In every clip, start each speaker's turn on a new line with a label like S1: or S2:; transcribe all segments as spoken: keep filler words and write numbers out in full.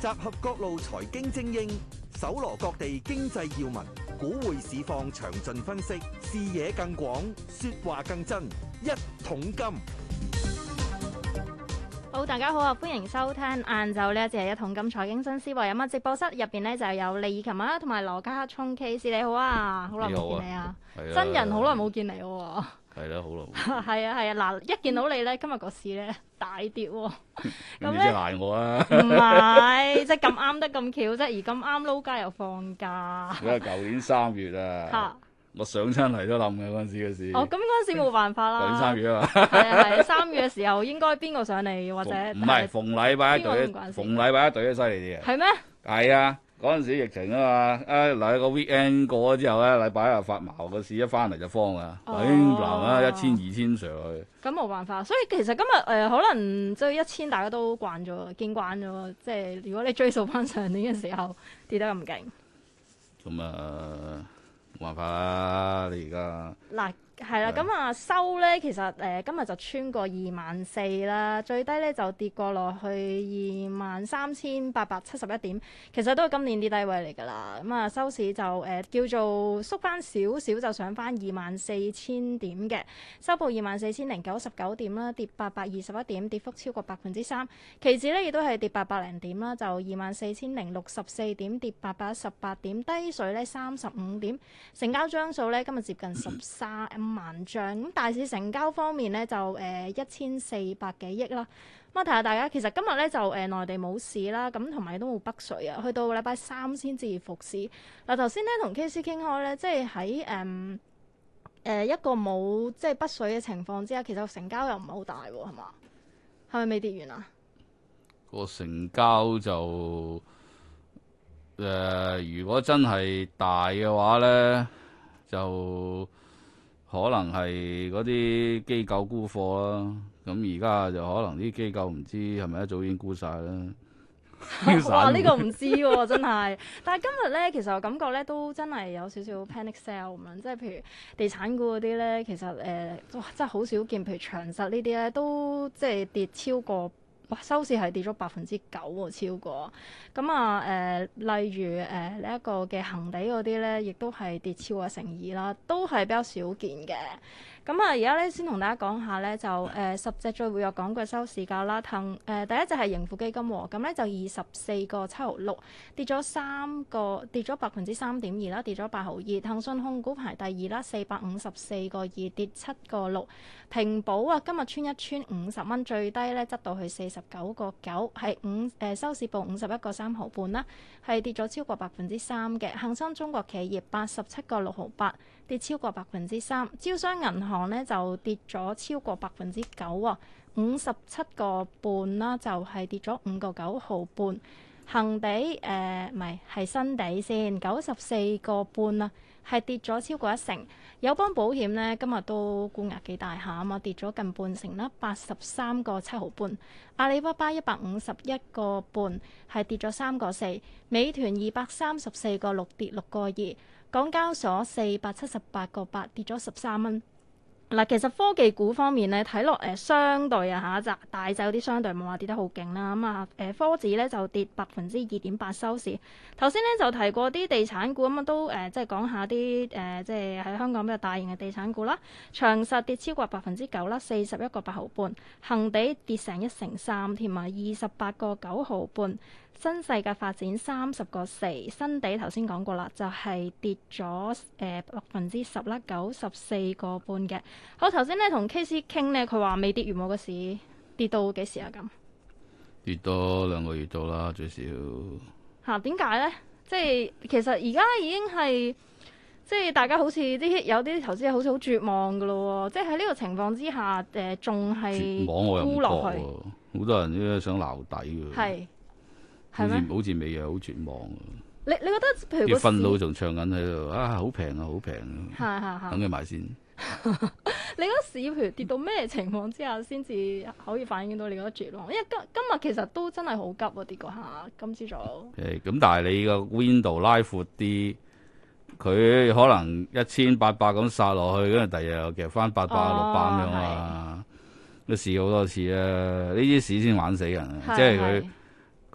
S1: 集合各路財經精英，搜羅各地經濟要聞，股匯市況詳盡分析，視野更廣，說話更真。一桶金。
S2: 好，大家好啊！歡迎收聽晏晝呢一節係一桶金財經新思維。咁啊，直播室入邊呢就有李以琴啊，同埋羅家聰 Case，你好啊！好耐冇見你啊！真人好耐冇見你喎。
S3: 係啦，好耐冇。
S2: 係啊係啊，嗱，一見到你咧，今日個市咧大跌喎。
S3: 咁你即係賴我啊？
S2: 唔係，即係咁啱得咁巧啫，而咁啱撈街又放假。
S3: 因為舊年三月啊，我上親嚟都冧嘅嗰陣時嘅事。
S2: 哦，咁嗰陣時冇辦法啦。
S3: 舊年三月啊嘛。
S2: 係啊係啊，三月嘅時候應該邊個上嚟或者？
S3: 唔係逢禮拜一隊，逢禮拜一隊都犀利啲嘅。
S2: 係咩？
S3: 係啊，嗰陣時疫情啊嘛，啊嗱個 weekend 過咗之後咧，禮拜一又發毛，個市一翻嚟就慌啊，砰砰啊，一千二千上去。
S2: 咁冇辦法，所以其實今日誒、呃、可能即係一千大家都慣咗，見慣咗，即係如果你追溯翻上年嘅時候跌得咁勁，
S3: 咁啊冇辦法啦，你而家
S2: 嗱。係啦，咁啊收咧，其實誒、呃、今日就穿過二萬四啦，最低咧就跌過落去二萬三千八百七十一點，其實都係今年啲低位嚟㗎啦。咁啊收市就誒、呃、叫做縮翻少少，就上翻二萬四千點嘅，收報二萬四千零九十九點啦，跌八百二十一點，跌幅超過百分之三。期指咧亦都係跌八百零點啦，就二萬四千零六十四點，跌八百一十八點，低水咧三十五點，成交張數咧今日接近十三萬張。咁大市成交方面咧就誒一千四百幾億啦。咁啊提下大家，其實今日咧就誒、呃、內地冇市啦，咁同埋都冇北水啊，去到禮拜三先至復市。嗱頭先咧同 K C 傾開咧，即係喺誒誒一個冇即係北水嘅情況之下，其實成交又唔係好大喎，係嘛？係咪未跌完啊？
S3: 個成交就誒、呃，如果真係大嘅話咧，就可能係嗰啲機構沽貨啦，咁而家就可能啲機構唔知係咪一早已經沽晒啦。
S2: 哇！呢、這個唔知喎、啊，真係。但係今日咧，其實我感覺咧都真係有少少 panic sell 咁樣，即係譬如地產股嗰啲咧，其實誒、呃、哇真係好少見，譬如長實呢啲咧都即係跌超過。哇！收市係跌咗百分之九喎，超過咁啊！誒、呃，例如誒呢一個嘅恒地嗰啲咧，亦都係跌超過成二啦，都係比較少見嘅。咁啊，而家咧先同大家講下咧，就誒、呃、十隻最活躍港股收市價啦。騰誒、呃、第一隻係盈富基金喎，咁咧就二十四個七毫六，跌咗三個，跌咗百分之三點二啦，跌咗八毫二。騰訊控股排第二啦，四百五十四個二，跌七個六。平保啊，今日穿一穿五十蚊，最低咧執到去四十九個九，係五誒收市報五十一個三毫半啦，係跌咗超過百分之三嘅。恒生中國企業八十七個六毫八，跌超過百分之三。招商銀行咧就跌咗超過百分之九喎，五十七個半啦，就係跌咗五個九毫半。恒地誒唔係係新地先，九十四個半啦，係跌咗超過一成。友邦保險咧今日都沽壓幾大下啊嘛，跌咗近半成啦，八十三個七毫半。阿里巴巴一百五十一個半，係跌咗三個四。美團二百三十四個六，跌六個二。港交所四百七十八個八，跌咗十三蚊。嗱，其實科技股方面咧，睇落誒相對啊嚇，大就有啲相對冇話跌得好勁啦。咁啊誒科指咧就跌百分之二點八收市。頭先咧就提過啲地產股咁啊，都誒、呃、即係講下啲誒、呃、即係喺香港比較大型嘅地產股啦。長實跌超過百分之九啦，四十一個八毫半。恒地跌成一成三添啊，二十八個九毫半。新世界發展三十個四，新地頭先講過啦，就係、是、跌咗誒百分之十啦，九十四個半嘅。好，頭先咧同 K C 傾咧，佢話未跌完冇個市，跌到幾時啊？咁
S3: 跌多兩個月到啦，最少
S2: 嚇點解咧？即係其實而家已經係即係大家好似啲有啲投資者好似好絕望噶咯喎！即係喺呢個情況之下，誒仲係沽落去，
S3: 好多人都想撈底㗎。
S2: 係。
S3: 好似好似未有好絕望啊！
S2: 你你覺得譬如個
S3: 分佬仲唱緊喺度啊，好平啊，好平啊！等佢買先。
S2: 你覺得市譬如跌到咩情況之下先至可以反映到你覺得絕望？因為今今日其實都真係好急啊，跌嗰下今朝早。誒，
S3: 咁但係你個 window 拉闊啲，佢可能一千八百咁殺落去，跟住第二日又夾翻八百六百咁樣啊！都試好多次啊！呢啲市先玩死人啊！即係佢。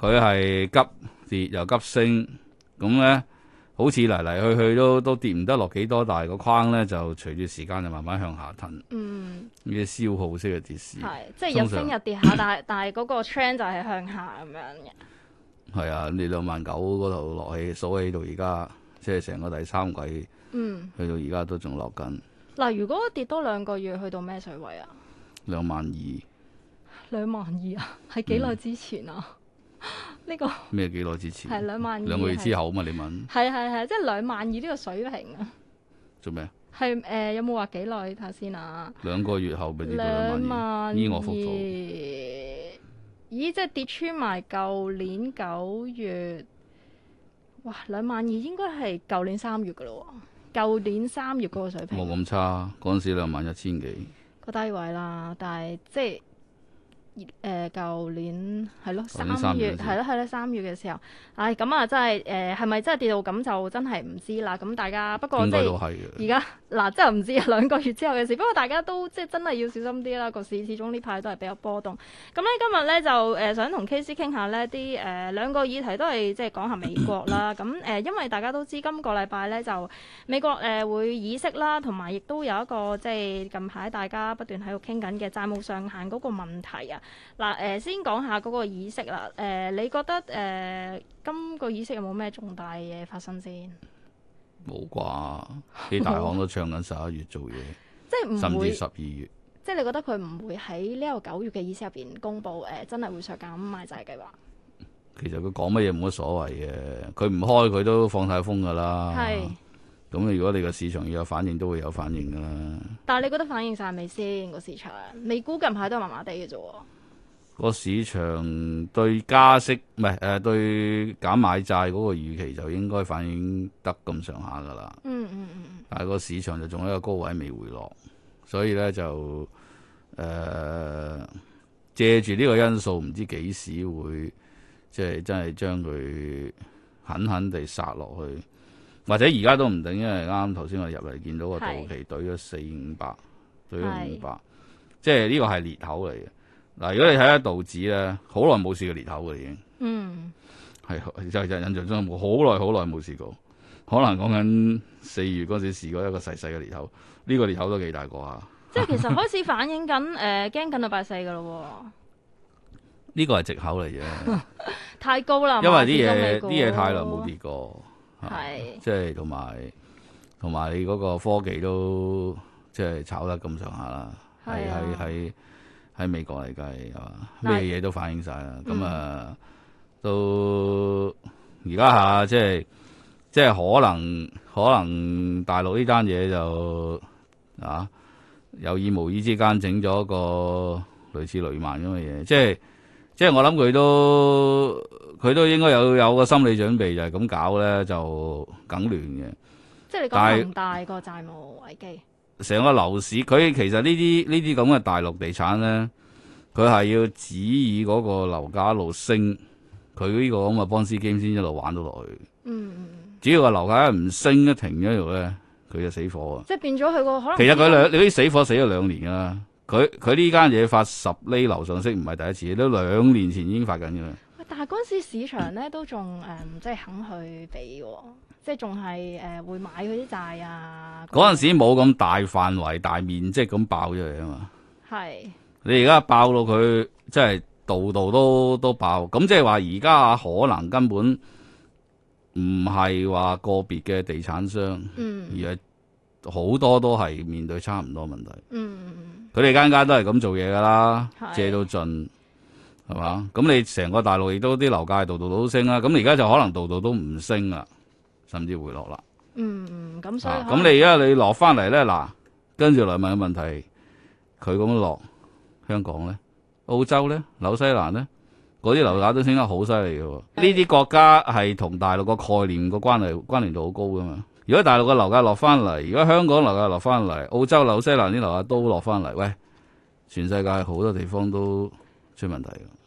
S3: 佢係急跌又急升，咁咧好似嚟嚟去去都都跌唔得落幾多，但係個框咧就隨住時間就慢慢向下褪。嗯，呢啲消耗式嘅跌市，
S2: 係即係日升日跌下，但係但係嗰個 trend 就係向下咁樣嘅。
S3: 係啊，你兩萬九嗰度落起數起到而家，即係成個第三季，嗯，去到而家都仲落緊。
S2: 嗱，如果跌多兩個月，去到咩水位啊？
S3: 兩萬二。兩
S2: 萬二啊？係幾耐之前啊？呢、這個
S3: 咩幾耐之前？
S2: 係兩萬二。
S3: 兩個月之後嘛？你問？
S2: 係係係，即係兩萬二呢個水平啊？
S3: 做咩？
S2: 係誒、呃，有冇話幾耐睇下先啊？
S3: 兩個月後咪跌到兩萬二，依我復數。
S2: 咦，即係跌穿埋舊年九月，哇！兩萬二應該係舊年三月噶咯喎，舊年三月嗰個水平。
S3: 冇咁差，嗰陣時兩萬一千幾
S2: 個低位啦，但係即係。誒舊、呃、年係咯，三月係咯係咯，三月嘅時候，唉咁啊，真係誒係咪真係跌到咁就真係唔知啦。咁大家不過即係而家嗱，真係唔知啊，兩個月之後嘅事。不過大家都即係真係要小心啲啦。個市始終呢排都係比較波動。咁咧今日咧就誒、呃、想同 K C 傾下呢啲誒兩個議題都係即係講下美國啦。咁誒、呃、因為大家都知今個禮拜咧就美國誒、呃、會議息啦，同埋亦都有一個即係近排大家不斷喺度傾緊嘅債務上限嗰個問題啊。嗱，誒、呃、先講下嗰個議息啦。誒、呃，你覺得誒、呃、今個議息有冇咩重大嘢發生先？
S3: 冇啩，啲大行都唱緊十一月做嘢，
S2: 即係唔會
S3: 甚至十二月。
S2: 即係你覺得佢唔會喺呢個九月嘅議息入邊公布誒、呃，真係會削減買債計劃？
S3: 其實佢講乜嘢冇乜所謂嘅，佢唔開佢都放晒風㗎啦。係。咁如果你個市場要有反應，都會有反應㗎啦。但係你覺得反應晒未先個市場？美股近排都係麻麻地嘅啫喎。個市場對加息唔係誒對減買債嗰個預期就應該反映得咁上下㗎啦。嗯嗯嗯。但係個市場就仲喺一個高位未回落，所以咧就誒、呃、借住呢個因素，唔知幾時會即係真係將佢狠狠地殺落去，或者而家都唔定，因為啱啱頭先我入嚟見到個道奇對咗四五百，對咗五百，即係呢個係裂口嚟嘅。嗱，如果你睇下道指咧，好耐冇試過裂口嘅已經，嗯，係就就印象中冇好耐好耐冇試過，可能講緊四月嗰時試過一個細細嘅裂口，呢、這個裂口都幾大個啊！即係其實開始反映緊誒驚緊到拜四嘅咯，呢個係藉口嚟啫，太高啦，因為啲嘢啲嘢太耐冇跌過，係即係同埋同埋你嗰個科技都即係炒得咁上下啦，係係係。喺美國嚟計係嘛，咩嘢都反映晒啦。咁、嗯、啊，到而家下即係即係可能可能大陸呢單嘢就啊有意無意之間整咗個類似雷曼咁嘅嘢，即係即係我諗佢都佢都應該有有個心理準備，就係咁搞咧就梗亂嘅。即係你講咁大個債務危機。成個樓市，佢其實呢啲呢啲咁嘅大陸地產咧，佢係要指以嗰個樓價一路升，佢呢個咁嘅幫斯基先一路玩到落去。嗯嗯。只要個樓價一唔升一停咗度咧，佢就死火啊！即係變咗佢個可能。其實佢兩你啲死火死咗兩年㗎啦。佢佢呢間嘢發十厘樓上息唔係第一次，都兩年前已經發緊㗎啦。但係嗰陣時市場咧都仲誒、嗯，即係肯去俾喎。即係仲係誒會買嗰啲債啊！嗰陣時冇咁大範圍、大面積咁爆出嚟啊嘛。係是你而家爆到佢，即係度度都都爆。咁即係話而家可能根本唔係話個別嘅地產商，嗯、而係好多都係面對差唔多問題。嗯，佢哋間間都係咁做嘢噶啦，是借到盡係嘛？咁你成個大陸亦都啲樓價度度都升啦。咁而家就可能度度都唔升啦。甚至回落啦。嗯，咁所以咁、啊、你而家你落翻嚟咧，嗱，跟住嚟問嘅問題，佢咁樣落，香港咧、澳洲咧、紐西蘭咧，嗰啲樓價都升得好犀利嘅喎。呢啲的國家係同大陸個概念個關係關聯度好高噶嘛。如果大陸嘅樓價落翻嚟，如果香港樓價落翻嚟，澳洲、紐西蘭啲樓價都落翻嚟，喂，全世界好多地方都出問題嘅。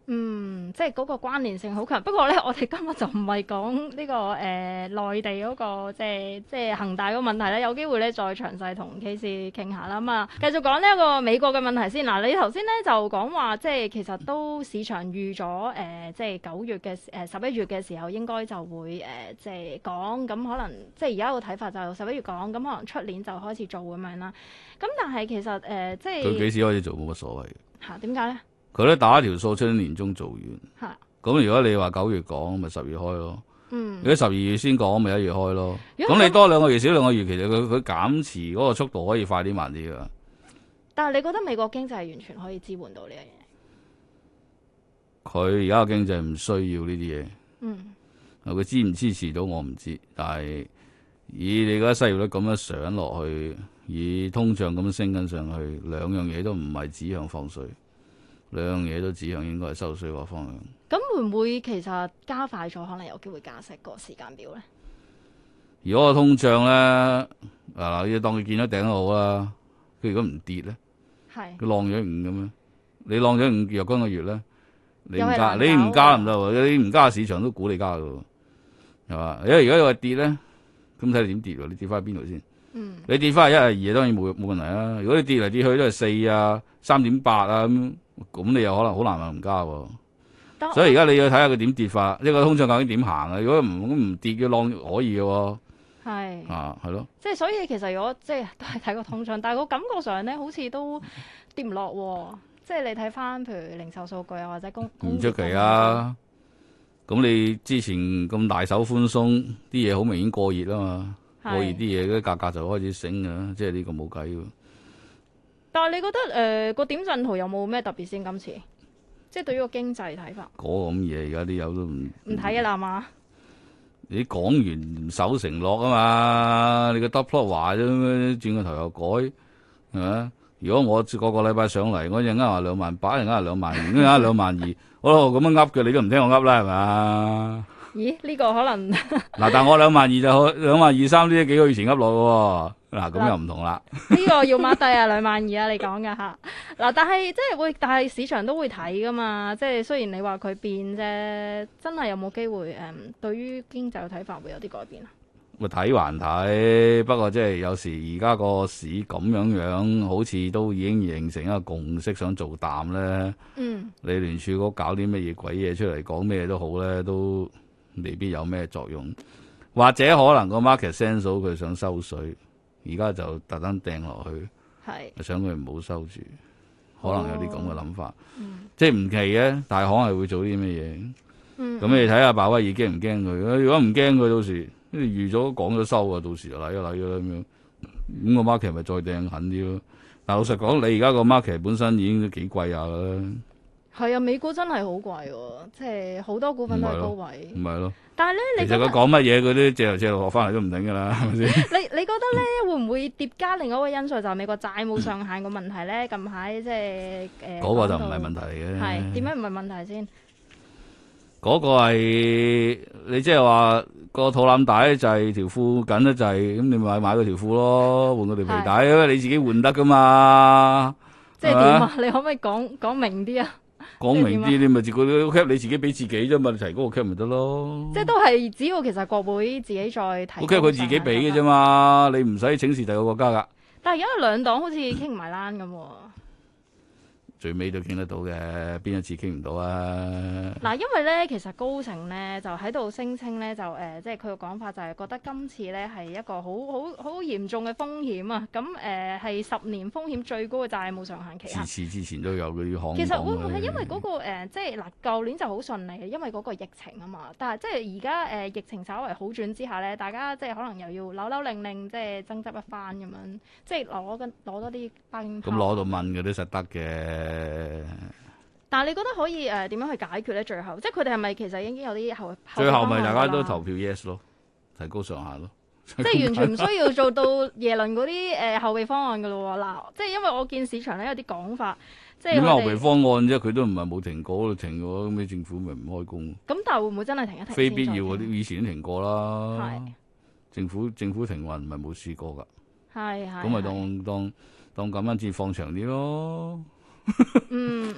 S2: 嗯，即係嗰個關聯性好強。不過咧，我哋今日就唔係講呢個誒、呃、內地嗰、個即係即係恒大嗰個問題咧，有機會咧再詳細同 K 師傾下啦。咁啊，繼續講呢一個美國嘅問題先。嗱，你頭先咧就講話即係其實都市場預咗誒、呃，即係九月嘅誒十一月嘅時候應該就會誒、呃、即係講，咁可能即係而家個睇法就十一月講，咁可能出年就開始做咁樣啦。咁但係其實誒、呃、即係
S3: 佢幾時開始做冇乜所謂
S2: 嚇點解咧？
S3: 佢都打一條數出年年中做完。
S2: 嚇
S3: 咁如果你話九月講，咪十月開咯。
S2: 嗯，
S3: 如果十二月先講，咪一月開咯。
S2: 如果
S3: 咁你多兩個月少兩個月，其實佢佢減持嗰個速度可以快啲慢啲噶。
S2: 但係你覺得美國經濟係完全可以支援到呢樣嘢？
S3: 佢而家嘅經濟唔需要呢啲嘢。
S2: 嗯，
S3: 佢支唔支持到我唔知，但係以你而家失業率咁樣上落去，以通脹咁升緊上去，兩樣嘢都唔係指向放水。兩樣嘢都指向應該係收水個方向。
S2: 咁會唔會其實加快咗，可能有機會加息個時間表咧？
S3: 如果個通脹咧，嗱，你當佢見到頂都好啦。佢如果唔跌咧，
S2: 係
S3: 佢浪咗五咁樣，你浪咗五若干個月咧，你唔加，
S2: 又係難搞
S3: 你唔加唔得喎，你唔加市場都估你加㗎喎，係嘛？因為如果你話跌咧，咁睇你點跌喎？你跌翻去邊度先？
S2: 嗯，
S3: 你跌翻去一係二，當然冇冇問題啦。如果你跌嚟跌去都係四啊、三點八啊咁，咁你又可能好難話唔加喎。
S2: 但
S3: 所以而家你要睇下佢點跌法，呢個通脹究竟點行啊？如果唔唔跌嘅浪可以嘅喎，
S2: 係
S3: 啊係咯。
S2: 即係所以其實如果即係都係睇個通脹，但係個感覺上咧好似都跌唔落喎。即係你睇翻譬如零售數據啊，或者工
S3: 唔出奇啊！咁你之前咁大手寬鬆，啲嘢好明顯過熱啊嘛，
S2: 係
S3: 過熱啲嘢嗰啲價格就開始升㗎，即係呢個冇計喎。
S2: 但係你覺得誒、呃、個點陣圖有冇咩特別先？今次即係對於個經濟睇法，
S3: 嗰個咁嘢而家啲友都唔
S2: 唔睇嘅啦嘛。
S3: 你講完唔守承諾啊嘛，你個 dot plot 話啫，轉個頭又改，係咪？如果我個個禮拜上嚟，我一陣間話兩萬八，一陣間話兩萬二，一陣間兩萬二，好啦，咁樣噏嘅，你都唔聽我噏啦，係咪？
S2: 咦？呢、這個可能
S3: 嗱，但係我兩萬二就兩萬二三呢幾個月前噏落嘅喎，嗱咁又唔同啦。
S2: 呢個要 mark 低啊，兩萬二啊，你講噶嚇。嗱，但係即係會，但係市場都會睇噶嘛。即係雖然你話佢變啫，真係有冇機會誒、嗯？對於經濟嘅睇法會有啲改變啊？
S3: 咪睇還睇，不過即係有時而家個市咁樣樣，好似都已經形成一個共識，想做淡咧。
S2: 嗯。
S3: 你聯儲局搞啲乜嘢鬼嘢出嚟，講咩都好咧，都未必有咩作用。或者可能個 market sense 到佢想收水，而家就特登掟落去，
S2: 係
S3: 想佢唔好收住，可能有啲咁嘅諗法。
S2: 嗯。
S3: 即係唔奇嘅，但係可能係會做啲咩嘢。
S2: 嗯。
S3: 咁你睇下鮑威爾驚唔驚佢？如果唔驚佢，到時預咗講咗收啊，到時就嚟咗嚟咗咁樣。咁個 market 咪再掟狠啲咯。但老實講，你而家個 market 本身已經幾貴下啦。
S2: 係啊，美股真係好貴喎，即係好多股份都係高位。
S3: 唔係咯。
S2: 但係咧，你
S3: 其實佢講乜嘢，佢都借頭借路落翻嚟都唔定㗎啦，係咪先？
S2: 你你覺得咧，會唔會疊加另外一個因素，就係美國債務上限個問題咧？近排即係誒。
S3: 嗰個就唔係問題嚟嘅。
S2: 係點解唔係問題先？
S3: 嗰個係你即係話個肚腩大就係條褲緊得滯，咁你咪買嗰條褲咯，換嗰條皮帶，因為你自己換得噶嘛。
S2: 即係點啊？你可唔可以講講明啲啊？
S3: 講明啲，你咪自己 cap 你自己俾自己啫嘛，你提嗰個 cap 咪得咯。
S2: 即係都係只要其實國會自己再提。
S3: 個 cap 佢自己俾嘅啫嘛，你唔使請示第二個國家噶。
S2: 但係而家兩黨好似傾唔埋欄咁喎。
S3: 最尾都傾得到嘅，邊一次傾唔到啊？
S2: 嗱，因為咧，其實高盛咧就喺度聲稱咧，就誒、呃，即係佢嘅講法就係覺得今次咧係一個好好好嚴重嘅風險啊！咁誒係十年風險最高嘅債務上限期限。
S3: 次次之前都有嗰啲行。
S2: 其實會唔會係因為嗰、那個、呃、即係嗱，舊年就好順利嘅，因為嗰個疫情啊嘛。但係即係而家誒疫情稍為好轉之下咧，大家即係可能又要扭扭令令，即係爭執一番咁樣，即係攞緊攞多啲兵。
S3: 咁攞到問嘅都實得嘅。誒，
S2: 但係你覺得可以誒點樣去解決咧？最後，即係佢哋係咪其實已經有啲後
S3: 最後咪大家都投票 yes 咯，提高上限咯，
S2: 即係完全唔需要做到耶倫嗰啲誒後備方案噶咯喎。嗱，即係因為我見市場咧有啲講法，即係
S3: 點解後備方案啫？佢都唔係冇停過，停過咁你政府咪唔開工？
S2: 咁但係會唔會真係停一停？
S3: 非必要嗰啲以前都停過啦。
S2: 係
S3: 政府政府停運唔係冇試過㗎。
S2: 係係。
S3: 咁咪當當當咁樣至放長啲咯。
S2: 嗯嗯嗯。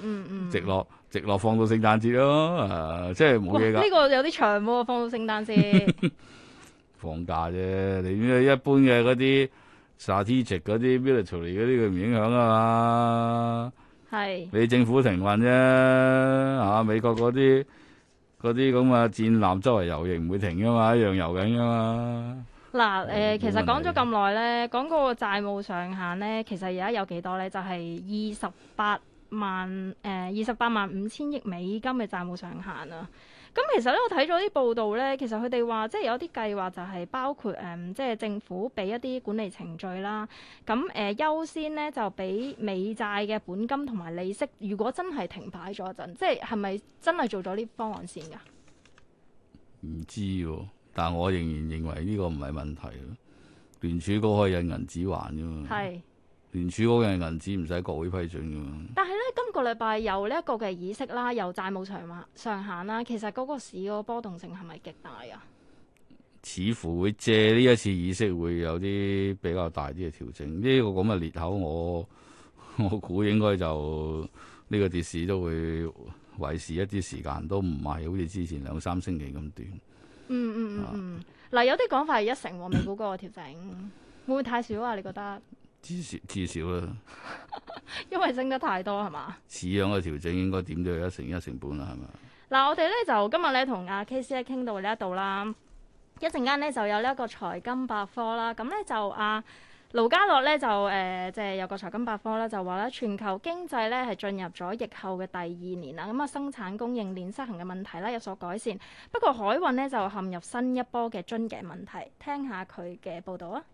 S3: 直落直落放到聖誕節咯，啊，即係冇嘢㗎。
S2: 呢、這個有啲長喎，放到聖誕節。
S3: 放假啫，你一般嘅嗰啲 strategic 嗰啲 military 嗰啲佢唔影響啊嘛。
S2: 係。
S3: 你政府停運啫，啊美國嗰啲嗰啲咁嘅戰艦周圍遊亦唔會停噶嘛，一樣遊緊噶嘛。
S2: 嗱，誒、呃，其實講咗咁耐咧，講嗰個債務上限咧，其實而家有幾多咧？就係二十八萬誒，二十八萬五千億美金嘅債務上限啊！咁其實咧，我睇咗啲報道咧，其實佢哋話即係有啲計劃就係包括誒、嗯，即係政府俾一啲管理程序啦。咁誒、呃、優先咧就俾美債嘅本金同埋利息。如果真係停擺咗一陣，即係係咪真係做咗呢方案先㗎？
S3: 唔知喎，但我仍然認為呢個唔係問題。聯儲局可以印銀紙還㗎嘛？係。聯儲局嘅銀紙唔使國會批准㗎嘛？
S2: 但係咧，今個禮拜有呢一個嘅議息啦，有債務上限上限啦，其實嗰個市嗰個波動性係咪極大啊？
S3: 似乎會借呢一次議息會有啲比較大啲嘅調整，呢、這個咁嘅裂口我，我我估應該就呢、這個跌市都會維持一啲時間，都唔係好似之前兩三星期咁短。
S2: 嗯嗯嗯嗯，嗱、啊、有啲講法係一成喎，美股嗰個調整會唔會太少啊？你覺得？
S3: 至少至少啦，
S2: 因為升得太多係嘛？
S3: 似樣嘅調整應該點都有一成一成半啦，係咪？
S2: 嗱，我哋咧就今日咧同阿 K C 咧傾到呢一度啦，一陣間咧就有呢一個財金百科啦。咁咧就阿盧家樂咧就誒即係有個財金百科啦，就話咧全球經濟咧係進入咗疫後嘅第二年啦。咁啊生產供應鏈失衡嘅問題啦有所改善，不過海運咧就陷入新一波嘅樽頸問題。聽下佢嘅報導啊！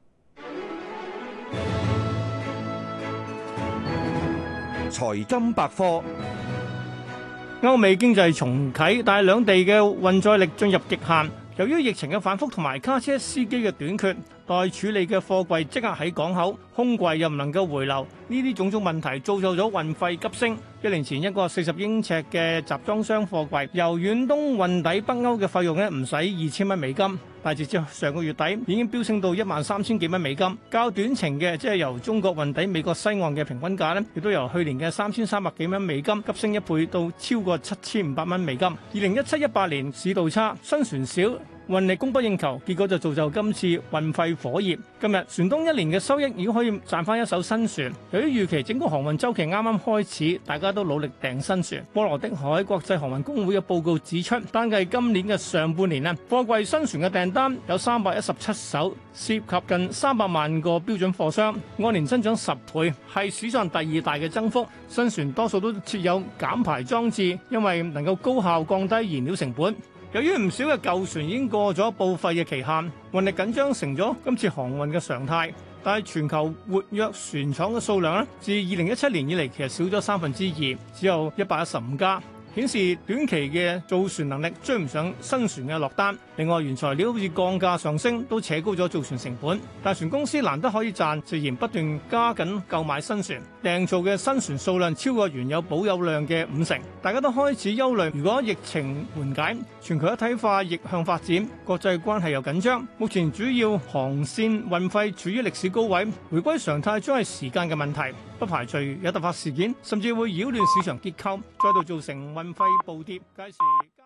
S1: 財金百科。
S4: 歐美經濟重啟，但係兩地嘅運載力進入極限。由於疫情嘅反覆同埋卡車司機嘅短缺，待處理嘅貨櫃即刻喺港口，空櫃又唔能夠回流，呢啲種種問題造就咗運費急升。一年前一個四十英尺嘅集裝箱貨櫃由遠東運抵北歐嘅費用咧唔使二千蚊美金，但係直至上個月底已經飆升到一萬三千幾蚊美金。較短程嘅即係由中國運抵美國西岸嘅平均價咧，亦都由去年嘅三千三百幾蚊美金急升一倍到超過七千五百蚊美金。二零一七一八年市道差，新船少，運力供不應求，結果就造就今次運費火熱。今日船東一年嘅收益已經可以賺翻一艘新船。由於預期整個航運週期啱啱開始，大家都努力訂新船。波羅的海國際航運公會嘅報告指出，單計今年嘅上半年咧，貨櫃新船嘅訂單有三百一十七艘，涉及近三百萬個標準貨箱，按年增長十倍，係史上第二大嘅增幅。新船多數都設有減排裝置，因為能夠高效降低燃料成本。由於唔少嘅舊船已經過咗報廢嘅期限，運力緊張成咗今次航運嘅常態。但係全球活躍船廠嘅數量咧，自二零一七年以嚟其實少咗三分之二，只有一百一十五家。顯示短期嘅造船能力追唔上新船嘅落單。另外，原材料好似鋼價上升，都扯高咗造船成本。大船公司難得可以賺，自然不斷加緊購買新船，訂造嘅新船數量超過原有保有量嘅五成。大家都開始憂慮，如果疫情緩解，全球一體化逆向發展，國際關係又緊張，目前主要航線運費處於歷史高位，回歸常態將係時間嘅問題。不排除有突發事件，甚至會擾亂市場結構，再度造成運費暴跌。屆時